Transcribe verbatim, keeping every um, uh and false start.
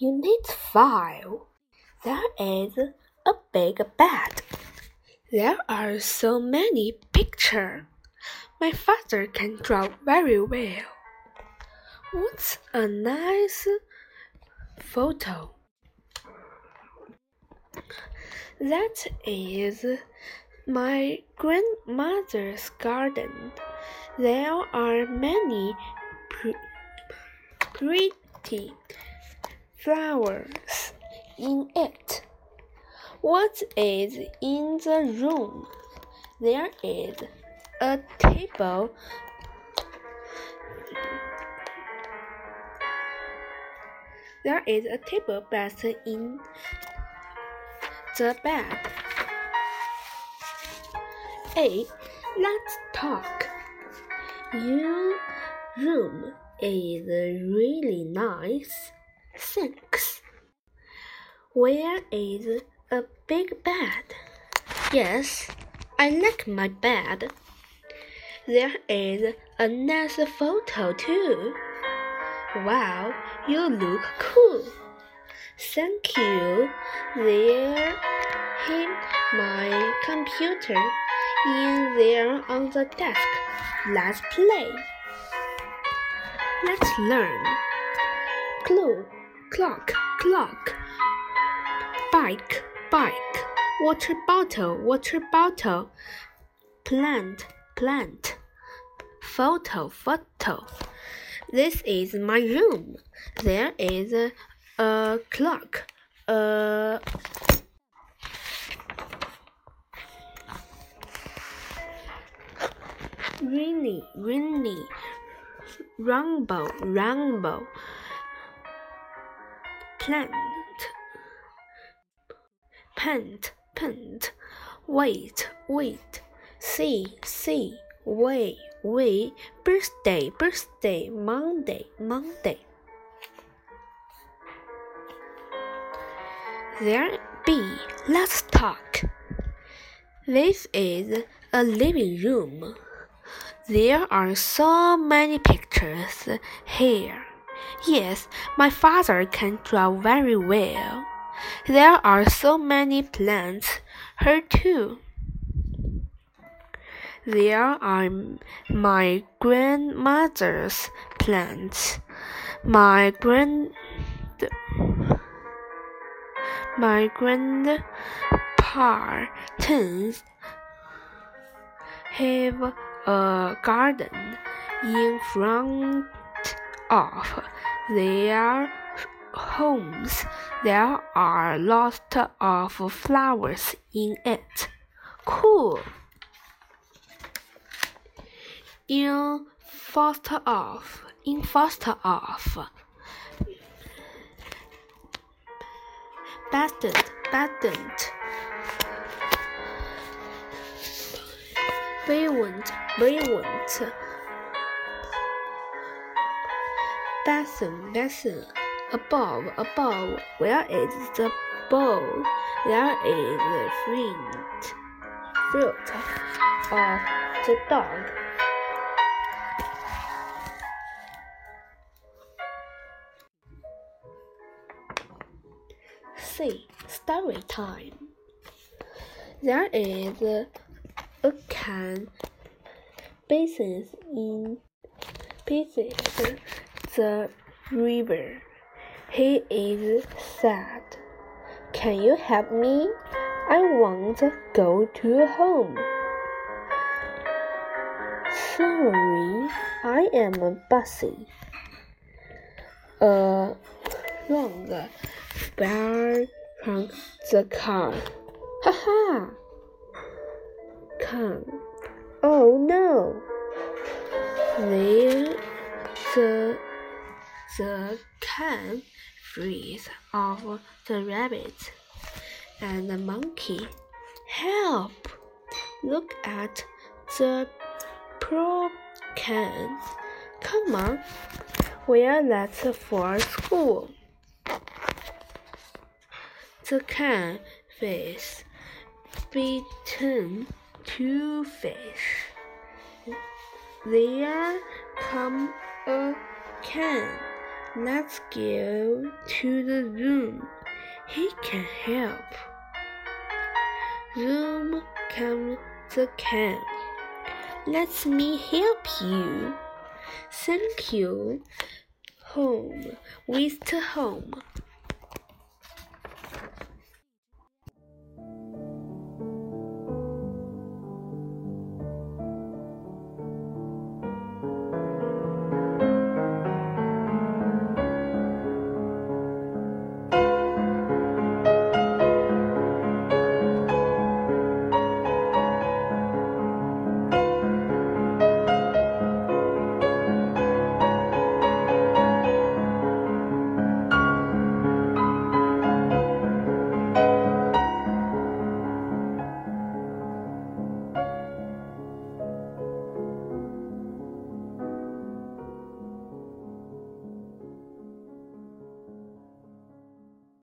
Unit five. There is a big bed. There are so many pictures. My father can draw very well. What's a nice photo? That is my grandmother's garden. There are many pr pretty flowers in it. What is in the room? There is a table. There is a table bed in the bed. A. Let's talk. Your room is really nice. Thanks. Where is a big bed? Yes, I like my bed. There is a nice photo too. Wow, you look cool. Thank you. There is my computer in there on the desk. Let's play. Let's learn. Clue, clock, clock. Bike, bike. Water bottle, water bottle. Plant, plant. Photo, photo. This is my room. There is a, a clock. A rainy, rainy. Rainbow, rainbow. Plant. Paint, paint. Wait, wait. See, see. Wait, wait. Birthday, birthday. Monday, Monday. There be. Let's talk. This is a living room. There are so many pictures here. Yes, my father can draw very well. There are so many plants here too. There are my grandmother's plants. My grand my grandparents have a garden in front of their homes. There are lots of flowers in it. Cool. In first off, in first off. Badent, badent. Brilliant, brilliant. Basin, basin. Above, above. Where is the bowl? There is the fruit, fruit of the dog. C. Story time. There is a, a can basin in pieces the river. He is sad. Can you help me? I want to go to home. Sorry, I am busy. A long bear from the car. Ha ha! Come. Oh no! There the the can freeze off the rabbit and the monkey. Help! Look at the poor can. Come on, we are late for school. The can face between two fish. There come a can. Let's go to the room. He can help. Room come the camp. Let me help you. Thank you. Home with home.